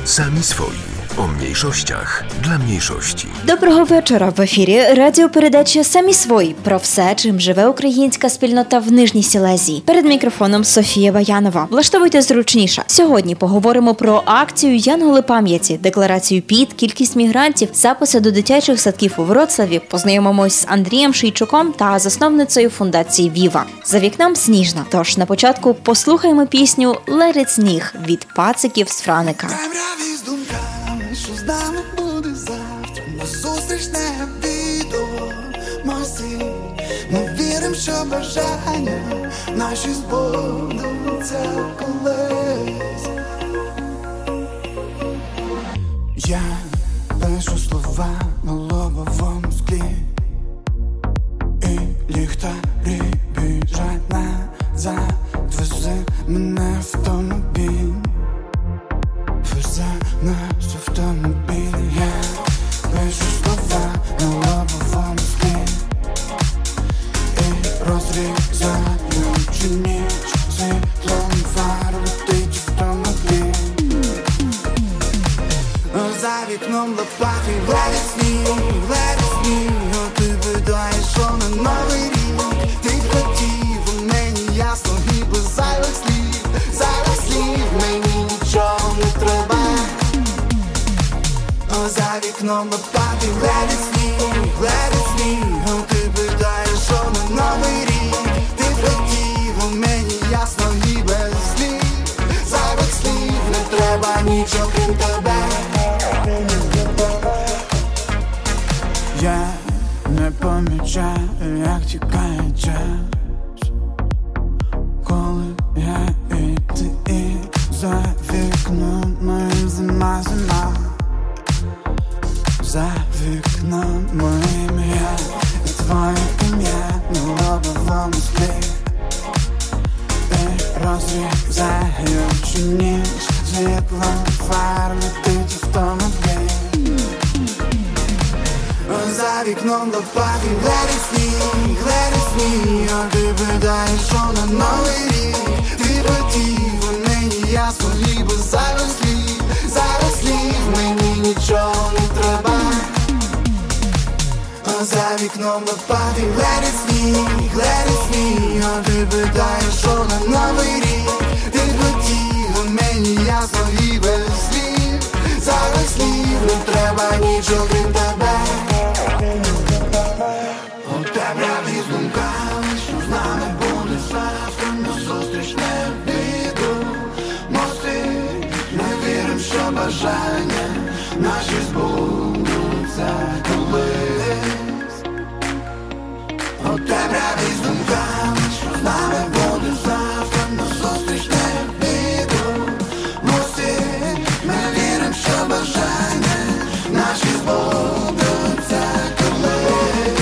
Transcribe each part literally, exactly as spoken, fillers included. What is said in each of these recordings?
Sami swoi. O mniejszościach dla mniejszości. Доброго вечора. В ефірі радіопередача «Самі свої» про все, чим живе українська спільнота в Нижній Сілезії. Перед мікрофоном Софія Баянова. Влаштовуйте зручніше. Сьогодні поговоримо про акцію «Янголи пам'яті», декларацію ПІТ, кількість мігрантів, записи до дитячих садків у Вроцлаві. Познайомимось з Андрієм Шийчуком та засновницею фундації «Віва». За вікном сніжно. Тож на початку послухаємо пісню «Let it сніг» від пациків з Франика. Що з нами буде завтра, назустріч не відомості. Ми віримо, що бажання наші збудуться колись. Я пишу слова на лобовому склі, і ліхтарі біжать назад. Вези мене автомобіль, вези наш автомобіль. Я пишу слова на лобовому склі і розрізаючи ніч світлом фар летить автомобіль. За вікном лопатий летить сніг, летить сніг. Ти видаєш, що на новий рік ти хотів, мені ясно і без зайвих слів, зайвих слів. Мені нічого не треба. За вікном лопатий летить сніг, летить сніг. Ти видаєш, що на новий рік ти хотів, мені ясно і без слів, зайвих слів. Не треба нічого крім тебе. Я не помічаю, як тікає час, коли я і ти, і за вікном моїм зима, зима. За вікном моїм я і твоє ім'я на лобовому склі, і розрізаючи ніч світлом фар летить автомобіль. За вікном лопатий летить сніг, летить сніг. Ти видаєш, що на новий рік ти хотів, мені ясно і без зайвих слів, зайвих слів. Мені нічого не треба. За вікном лопатий летить сніг, летить сніг. Ти видаєш, що на новий рік ти хотів, мені ясно і без слів, зайвих слів. Не треба нічого крім тебе. У темряві з думками, що з нами буде завтра, назустріч не відомості. Ми віримо, що бажання наші збудуться колись. У темряві з думками, що з нами буде завтра, назустріч не відомості. Ми віримо, що бажання наші збудуться колись.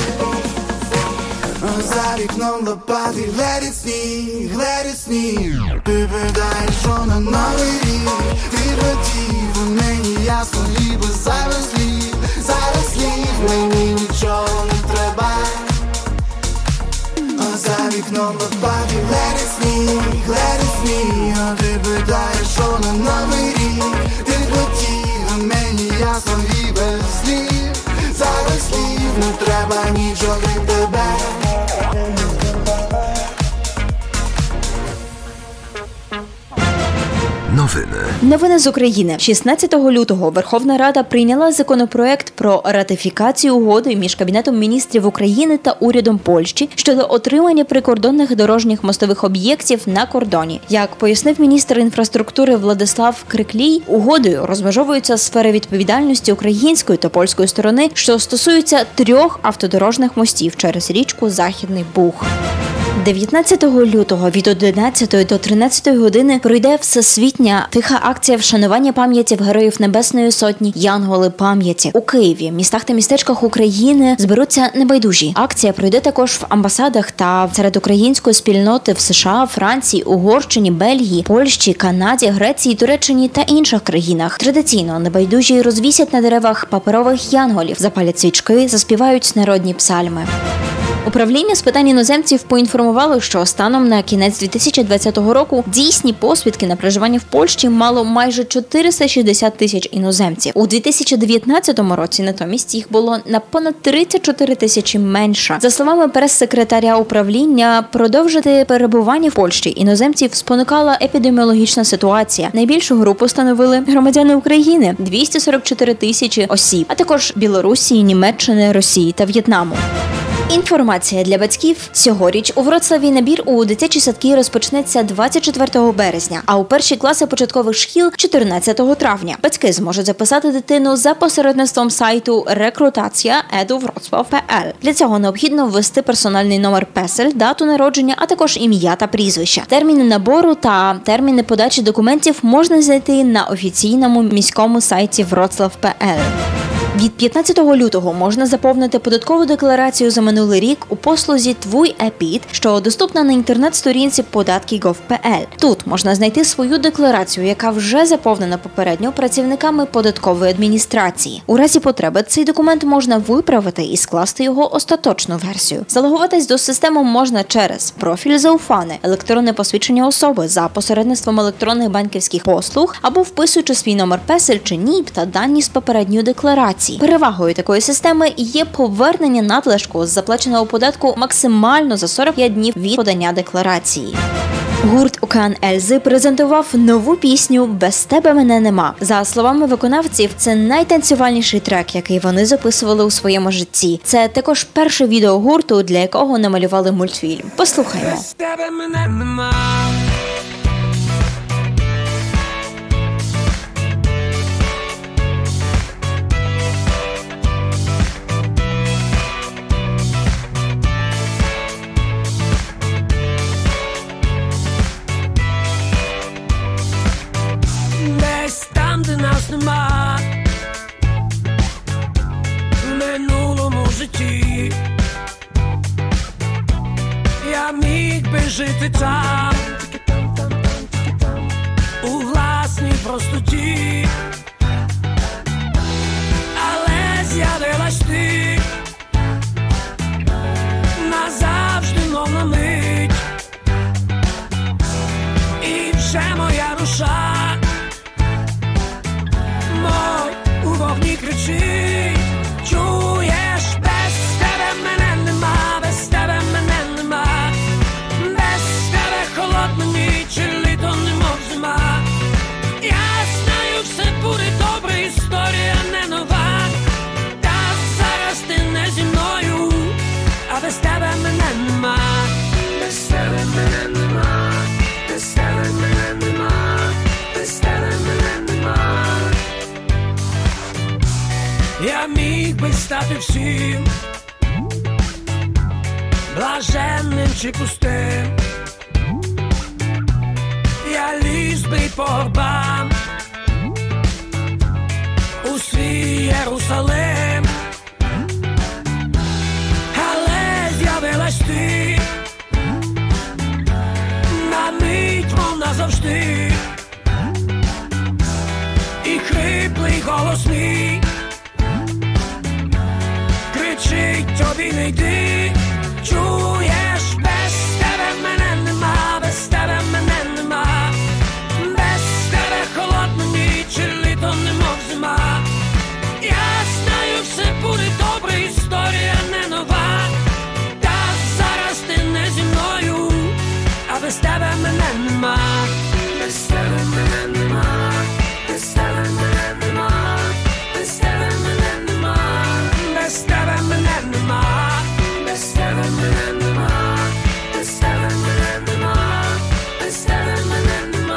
За вікном лопатий летить сніг, летить сніг. Ти видаєш, що на новий рік ти хотів, мені ясно і без зайвих слів, зайвих слів. Мені нічого не треба. За вікном лопатий летить сніг, летить сніг. Ти видаєш, що на новий рік ти хотів, мені ясно і без слів, зайвих слів. Не треба нічого крім тебе. Новини. Новини з України. шістнадцятого лютого Верховна Рада прийняла законопроект про ратифікацію угоди між Кабінетом міністрів України та урядом Польщі щодо отримання прикордонних дорожніх мостових об'єктів на кордоні. Як пояснив міністр інфраструктури Владислав Криклій, угодою розмежовуються сфери відповідальності української та польської сторони, що стосуються трьох автодорожних мостів через річку Західний Буг. дев'ятнадцятого лютого від одинадцятої до тринадцятої години пройде всесвітня тиха акція вшанування пам'яті Героїв Небесної Сотні «Янголи пам'яті». У Києві, містах та містечках України зберуться небайдужі. Акція пройде також в амбасадах та серед української спільноти в США, Франції, Угорщині, Бельгії, Польщі, Канаді, Греції, Туреччині та інших країнах. Традиційно небайдужі розвісять на деревах паперових янголів, запалять свічки, заспівають народні псальми. Управління з питань іноземців поінформувало, що станом на кінець дві тисячі двадцятого року дійсні посвідки на проживання в Польщі мало майже чотириста шістдесят тисяч іноземців. У дві тисячі дев'ятнадцятому році натомість їх було на понад тридцять чотири тисячі менше. За словами прес-секретаря управління, продовжити перебування в Польщі іноземців спонукала епідеміологічна ситуація. Найбільшу групу становили громадяни України – двісті сорок чотири тисячі осіб, а також Білорусі, Німеччини, Росії та В'єтнаму. Інформація для батьків. Цьогоріч у Вроцлаві набір у дитячі садки розпочнеться двадцять четвертого березня, а у перші класи початкових шкіл – чотирнадцятого травня. Батьки зможуть записати дитину за посередництвом сайту rekrutacja крапка e d u wrocław крапка p l. Для цього необхідно ввести персональний номер песель, дату народження, а також ім'я та прізвище. Терміни набору та терміни подачі документів можна знайти на офіційному міському сайті wrocław крапка p l. Від п'ятнадцятого лютого можна заповнити податкову декларацію за минулий рік у послузі «Твій ЕПІД», що доступна на інтернет-сторінці податки крапка гов крапка пе ел. Тут можна знайти свою декларацію, яка вже заповнена попередньо працівниками податкової адміністрації. У разі потреби цей документ можна виправити і скласти його остаточну версію. Залогуватись до системи можна через профіль Зауфане, електронне посвідчення особи за посередництвом електронних банківських послуг або вписуючи свій номер песель чи НІП та дані з попередньої декларації. Перевагою такої системи є повернення надлишку з заплаченого податку максимально за сорок п'ять днів від подання декларації. Гурт «Океан Ельзи» презентував нову пісню «Без тебе мене нема». За словами виконавців, це найтанцювальніший трек, який вони записували у своєму житті. Це також перше відео гурту, для якого намалювали мультфільм. Послухаймо. Без тебе мене нема. Де нас нема в минулому житті, я міг би жити там у власній простоті, але з'явилась ти назавжди, мов на мить, і вже моя душа у вогні кричить, чуєш, без тебе мене нема, без тебе мене нема, без тебе холодна ніч, літо немов зима. Я знаю, все буде добре, історія не нова, та зараз ти не зі мною, а без тебе мене нема, без тебе мене нема, без тебе мене нема, без тебе мене нема. Я міг би стати всім, блаженним чи пустим, я ліз би по горбам у свій Єрусалим, але з'явилась ти на мить, мов назавжди, і хриплий голос мій кричить, тобі не йди, чуєш, без тебе мене нема, без тебе мене нема, без тебе холодна ніч, літо немов зима. Я знаю, все буде добре, історія не нова, та зараз ти не зі мною, а без тебе мене нема, без тебе мене нема, без тебе мене нема, без тебе мене нема, без тебе мене нема, без тебе мене нема, без тебе мене нема, без тебе мене нема.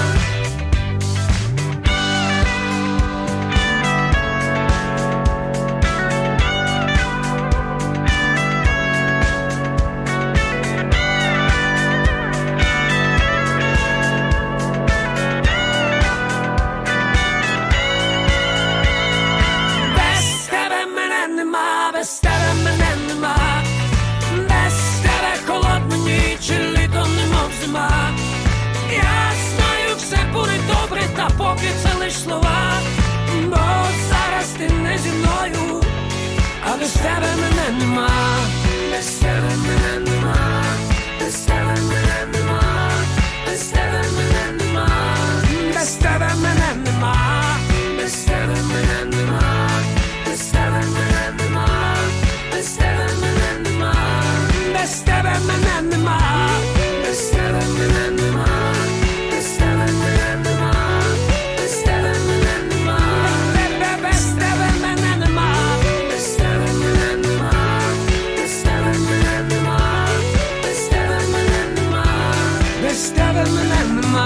Без тебе мене нема, без тебе холодна ніч, літо немов зима. Я знаю, все буде добре, та поки це лиш слова, бо зараз ти не зі мною, а без тебе мене нема. без тебе мене нема, без тебе мене нема, без тебе мене нема, без тебе мене нема, без тебе мене нема, без тебе мене нема, без тебе мене нема, без тебе мене нема, без тебе мене нема, без тебе мене нема, без тебе мене нема, без тебе мене нема, без тебе мене нема, без тебе мене нема, без тебе мене нема, без тебе мене нема.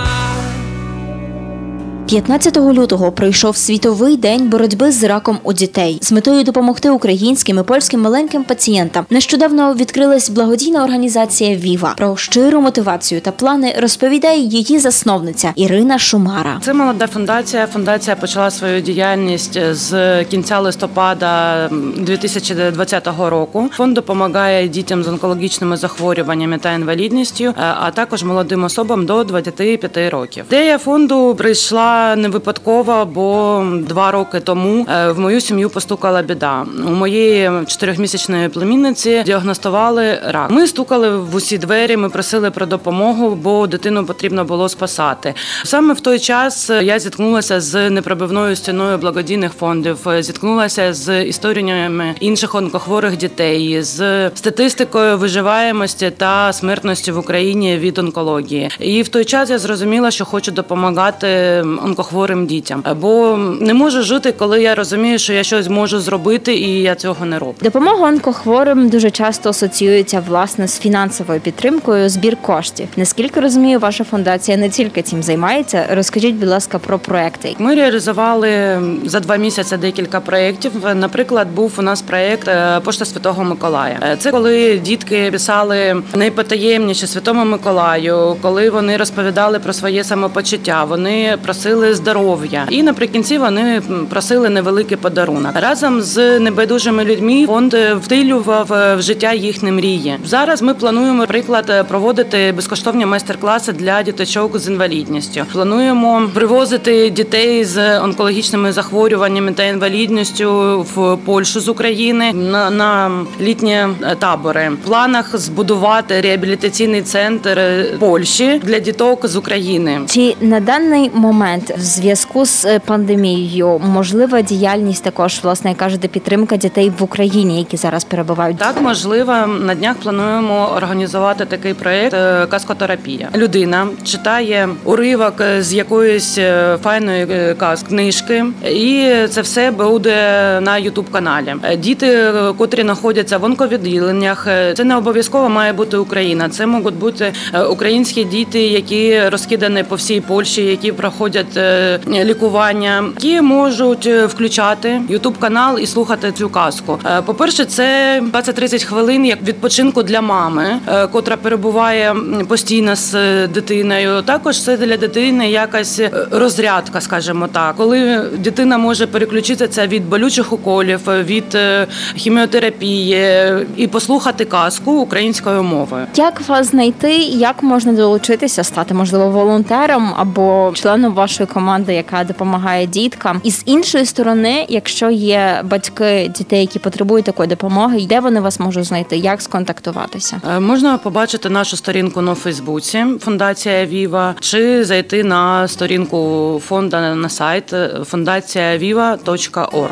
п'ятнадцятого лютого пройшов світовий день боротьби з раком у дітей. З метою допомогти українським і польським маленьким пацієнтам нещодавно відкрилась благодійна організація «Віва». Про щиру мотивацію та плани розповідає її засновниця Ірина Шумара. Це молода фундація. Фундація почала свою діяльність з кінця листопада дві тисячі двадцятого року. Фонд допомагає дітям з онкологічними захворюваннями та інвалідністю, а також молодим особам до двадцяти п'яти років. Ідея фонду прийшла не випадково, бо два роки тому в мою сім'ю постукала біда. У моєї чотирьохмісячної племінниці діагностували рак. Ми стукали в усі двері, ми просили про допомогу, бо дитину потрібно було спасати. Саме в той час я зіткнулася з непробивною стіною благодійних фондів, зіткнулася з історіями інших онкохворих дітей, з статистикою виживаємості та смертності в Україні від онкології. І в той час я зрозуміла, що хочу допомагати онкохворим дітям. Бо не можу жити, коли я розумію, що я щось можу зробити, і я цього не роблю. Допомога онкохворим дуже часто асоціюється, власне, з фінансовою підтримкою, збір коштів. Наскільки розумію, ваша фундація не тільки цим займається. Розкажіть, будь ласка, про проекти. Ми реалізували за два місяці декілька проєктів. Наприклад, був у нас проєкт «Пошта Святого Миколая». Це коли дітки писали найпотаємніше Святому Миколаю, коли вони розповідали про своє самопочуття, вони просили здоров'я. І наприкінці вони просили невеликий подарунок. Разом з небайдужими людьми фонд втілював в життя їхні мрії. Зараз ми плануємо, наприклад, проводити безкоштовні майстер-класи для діточок з інвалідністю. Плануємо привозити дітей з онкологічними захворюваннями та інвалідністю в Польщу з України на, на літні табори. В планах збудувати реабілітаційний центр Польщі для діток з України. Чи на даний момент в зв'язку з пандемією можлива діяльність також, власне, як кажете, підтримка дітей в Україні, які зараз перебувають? Так, можливо. На днях плануємо організувати такий проєкт «Казкотерапія». Людина читає уривок з якоїсь файної казки, книжки, і це все буде на ютуб-каналі. Діти, котрі знаходяться в онковідділеннях, це не обов'язково має бути Україна. Це можуть бути українські діти, які розкидані по всій Польщі, які проходять лікування, які можуть включати ютуб-канал і слухати цю казку. По-перше, це двадцять-тридцять хвилин як відпочинку для мами, котра перебуває постійно з дитиною. Також це для дитини якась розрядка, скажімо так, коли дитина може переключитися від болючих уколів, від хіміотерапії і послухати казку українською мовою. Як вас знайти, як можна долучитися, стати, можливо, волонтером або членом вашої команди, яка допомагає діткам? І з іншої сторони, якщо є батьки дітей, які потребують такої допомоги, де вони вас можуть знайти, як сконтактуватися? Можна побачити нашу сторінку на Фейсбуці «Фундація Віва», чи зайти на сторінку фонду на сайт фундація віва точка орг.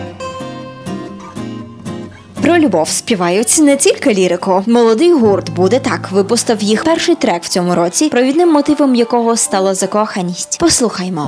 Про любов співають не тільки лірику. Молодий гурт «Буде так» випустив їх перший трек в цьому році, провідним мотивом якого стала закоханість. Послухаймо.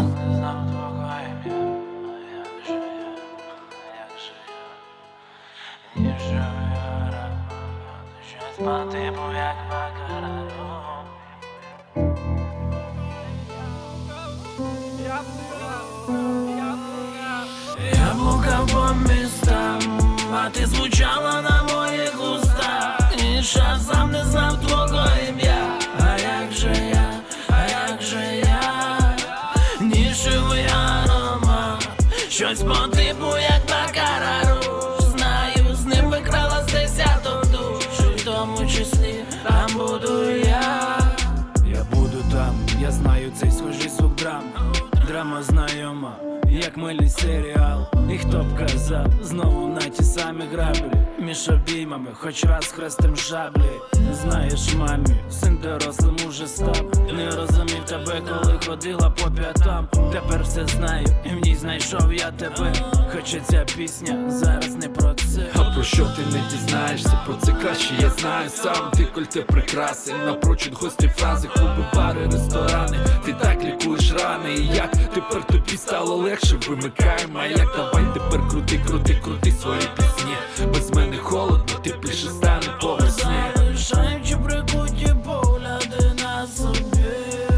Я блукав по містам, а ти звучала на моїх устах. І ще сам не знав твого ім'я. А як же я, а як же я, нішевий аромат, щось по типу як Бакара Руж. Знаю, з ним викрала з десяток душ, і в тому числі там буду я. Я буду там, я знаю цей схожий звук драм. Драма знайома, як мильний серіал. І хто б казав, знову на ті самі граблі, між обіймами, хоч раз хрестем шаблі. Знаєш, мамі, син дорослим уже став. Не розумів тебе, коли ходила по п'ятам. Тепер все знаю, і в ній знайшов я тебе. Хоча ця пісня зараз не про це. А про що ти не дізнаєшся, про це краще я знаю сам. Ти кольте прикраси, напрочуд гості фрази, клуби, бари, ресторани. Ти так лікуєш рани, і як тепер тобі стало легше, вимикаємо, а як давай тепер крути, крути, крути свої пісні. Без мене холодно, тепліше стане по весні. Залишаючи прикуті погляди на собі,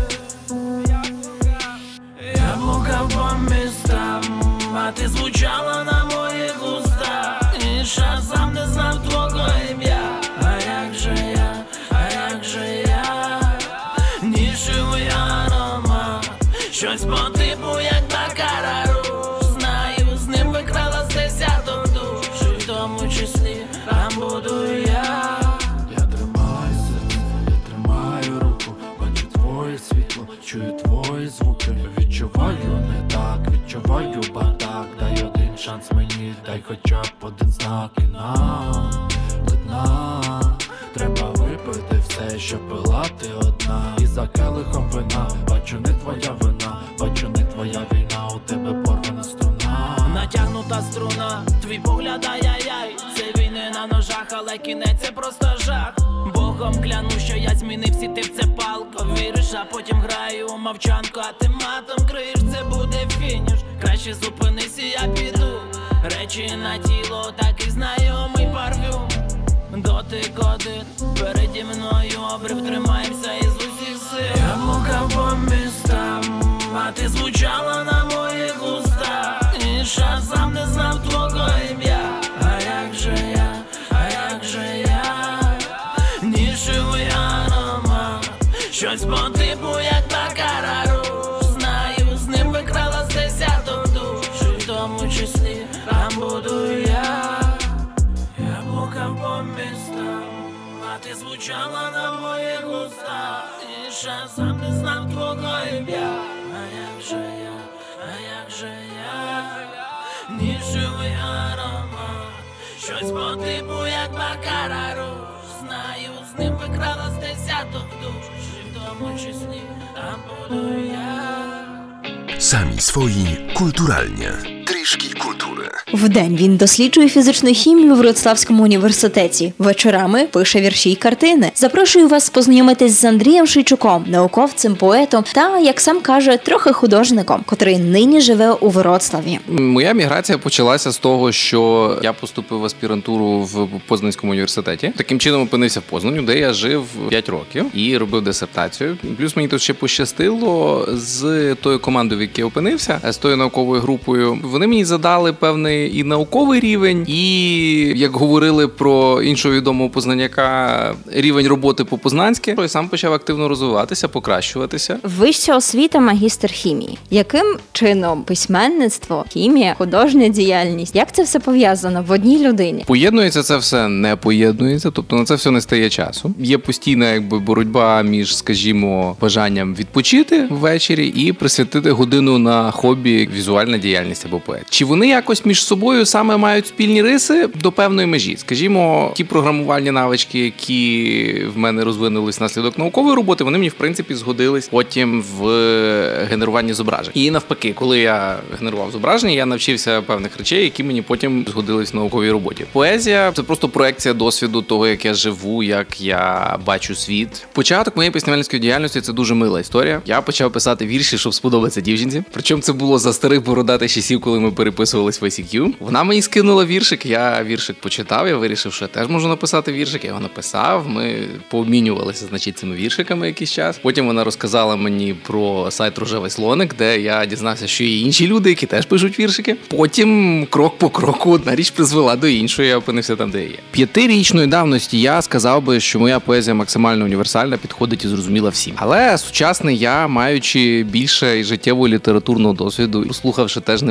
я блукав по містам, а ти звучала на моїх устах. І часом не знав твого ім'я. А як же я, а як же я, нішевий аромат, щось по типу як Бакара Руж. Знаю, з ним викрала з десяток душ, і в тому числі там буду я. Я тримаю серце, я тримаю руку, бачу твоє світло, чую твої звуки. Відчуваю не так, відчуваю бардак. Дай один шанс мені, дай хоча б один знак. І нам до дна треба випити все, що пила ти одна. І за келихом вина, бачу не твоя вина, бачу не твоя війна, у тебе порвана струна. Натягнута струна, твій погляд, ай-яй-яй. Це війни на ножах, але кінець це просто жах. Богом кляну, що я змінився, ти в це палко віриш, а потім граю у мовчанку, а ти матом криєш, це буде фініш. Краще зупинись і я піду. Речі на тіло, такий знайомий парфюм. Дотик один, переді мною обрив, тримаємося із усіх сил. Я блукав по містам, а ти звучала на моїх устах. І часом не знав твого ім'я. А як же я, а як же я, нішевий аромат, щось по типу як Бакара Руж. Знаю, з ним викрала з десяток душ, і в тому числі там буду я. Я блукав по містам, а ти звучала на моїх устах. І часом не знав твого ім'я. А як же я, а як же я, нішевий аромат, щось по типу як Бакара Руж. Знаю, з ним викрала з десяток душ, і в тому числі там буду я. Самі свої культуральні. Трішки культури. Вдень він досліджує фізичну хімію в Вроцлавському університеті. Вечорами пише вірші й картини. Запрошую вас познайомитись з Андрієм Шийчуком, науковцем, поетом та, як сам каже, трохи художником, котрий нині живе у Вроцлаві. Моя міграція почалася з того, що я поступив в аспірантуру в Познанському університеті. Таким чином опинився в Познані, де я жив п'ять років і робив дисертацію. Плюс мені тут ще пощастило з тою командою, в якій я опинився, з тою науковою групою. Вони мені задали певний і науковий рівень, і, як говорили про іншого відомого познаняка, рівень роботи по-познанськи. Я сам почав активно розвиватися, покращуватися. Вища освіта, магістр хімії. Яким чином письменництво, хімія, художня діяльність, як це все пов'язано в одній людині? Поєднується це все? Не поєднується, тобто на це все не стає часу. Є постійна якби боротьба між, скажімо, бажанням відпочити ввечері і присвятити годину на хобі, візуальна діяльність або поет. Чи вони якось між собою саме мають спільні риси до певної межі? Скажімо, ті програмувальні навички, які в мене розвинулись внаслідок наукової роботи, вони мені, в принципі, згодились потім в генеруванні зображень. І навпаки, коли я генерував зображення, я навчився певних речей, які мені потім згодились в науковій роботі. Поезія – це просто проекція досвіду того, як я живу, як я бачу світ. Початок моєї письменницької діяльності – це дуже мила історія. Я почав писати вірші, щоб сподобатися дівчинці. Причому це було за старих бородатих часів, коли ми переписувались в ай сі кью. Вона мені скинула віршик, я віршик почитав, я вирішив, що я теж можу написати віршик. Я його написав, ми пообмінювалися, значить, цими віршиками якийсь час. Потім вона розказала мені про сайт «Рожевий слоник», де я дізнався, що є інші люди, які теж пишуть віршики. Потім, крок по кроку, одна річ призвела до іншої, я опинився там, де я є. П'ятирічної давності я сказав би, що моя поезія максимально універсальна, підходить і зрозуміла всім. Але сучасний я, маючи більше життєвого літературного досвіду, слухавши теж немало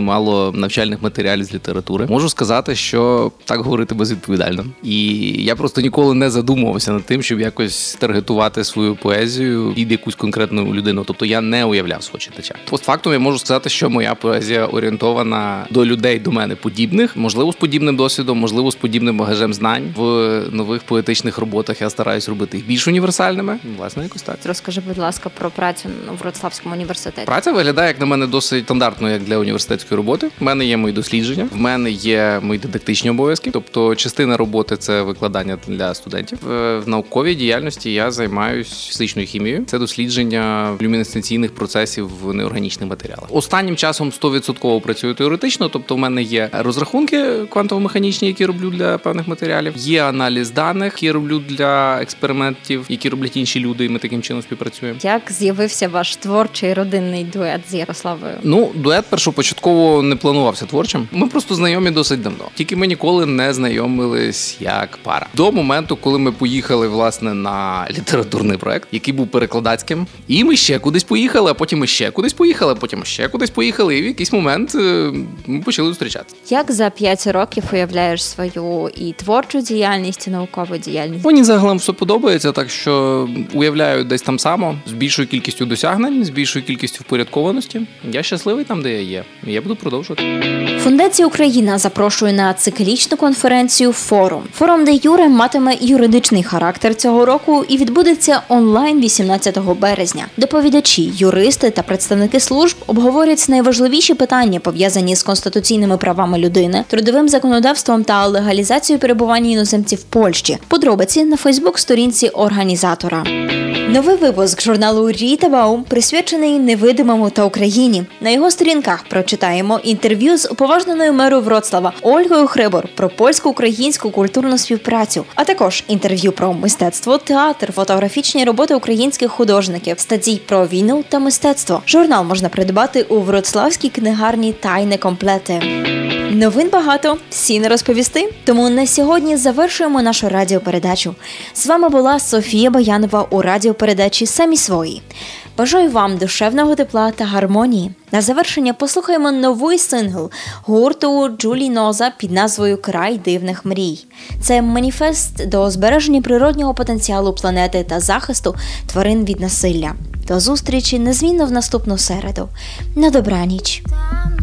до навчальних матеріалів з літератури. Можу сказати, що так говорити безвідповідально. І я просто ніколи не задумувався над тим, щоб якось таргетувати свою поезію під якусь конкретну людину. Тобто я не уявляв свого читача. Постфактум я можу сказати, що моя поезія орієнтована до людей, до мене подібних, можливо, з подібним досвідом, можливо, з подібним багажем знань. В нових поетичних роботах я стараюсь робити їх більш універсальними. Власне, якось так. Розкажи, будь ласка, про працю в Вроцлавському університеті. Праця виглядає, як на мене, досить стандартно, як для університетської роботи. В мене є мої дослідження, в мене є мої дидактичні обов'язки, тобто частина роботи – це викладання для студентів. В науковій діяльності я займаюся фізичною хімією. Це дослідження люмінесценційних процесів в неорганічних матеріалах. Останнім часом сто відсотків працюю теоретично, тобто в мене є розрахунки квантово-механічні, які роблю для певних матеріалів, є аналіз даних, які роблю для експериментів, які роблять інші люди, і ми таким чином співпрацюємо. Як з'явився ваш творчий родинний дует з Ярославою? Ну, дует першопочатково не планувався творчим. Ми просто знайомі досить давно. Тільки ми ніколи не знайомились як пара. До моменту, коли ми поїхали, власне, на літературний проект, який був перекладацьким. І ми ще кудись поїхали, а потім ми ще кудись поїхали, а потім ще кудись поїхали. І в якийсь момент ми почали зустрічатися. Як за п'ять років уявляєш свою і творчу діяльність, і наукову діяльність? Мені загалом все подобається, так що уявляю десь там само, з більшою кількістю досягнень, з більшою кількістю впорядкованості. Я щасливий там, де я є. І я буду продовжувати. Фундація «Україна» запрошує на циклічну конференцію «Форум». Форум де юре матиме юридичний характер цього року і відбудеться онлайн вісімнадцятого березня. Доповідачі, юристи та представники служб обговорять найважливіші питання, пов'язані з конституційними правами людини, трудовим законодавством та легалізацією перебування іноземців в Польщі. Подробиці на фейсбук-сторінці організатора. Новий випуск журналу «Ріта Баум» присвячений невидимому та Україні. На його сторінках прочитаємо інтерв'ю з уповажненою мерою Вроцлава Ольгою Хрибор про польсько-українську культурну співпрацю, а також інтерв'ю про мистецтво, театр, фотографічні роботи українських художників, статті про війну та мистецтво. Журнал можна придбати у Вроцлавській книгарні «Тайне комплети». Новин багато, всі не розповісти, тому на сьогодні завершуємо нашу радіопередачу. З вами була Софія Боянова у радіопередачі «Самі свої». Бажаю вам душевного тепла та гармонії. На завершення послухаємо новий сингл гурту Джулі Ноза під назвою «Край дивних мрій». Це маніфест до збереження природнього потенціалу планети та захисту тварин від насилля. До зустрічі незмінно в наступну середу. На добраніч!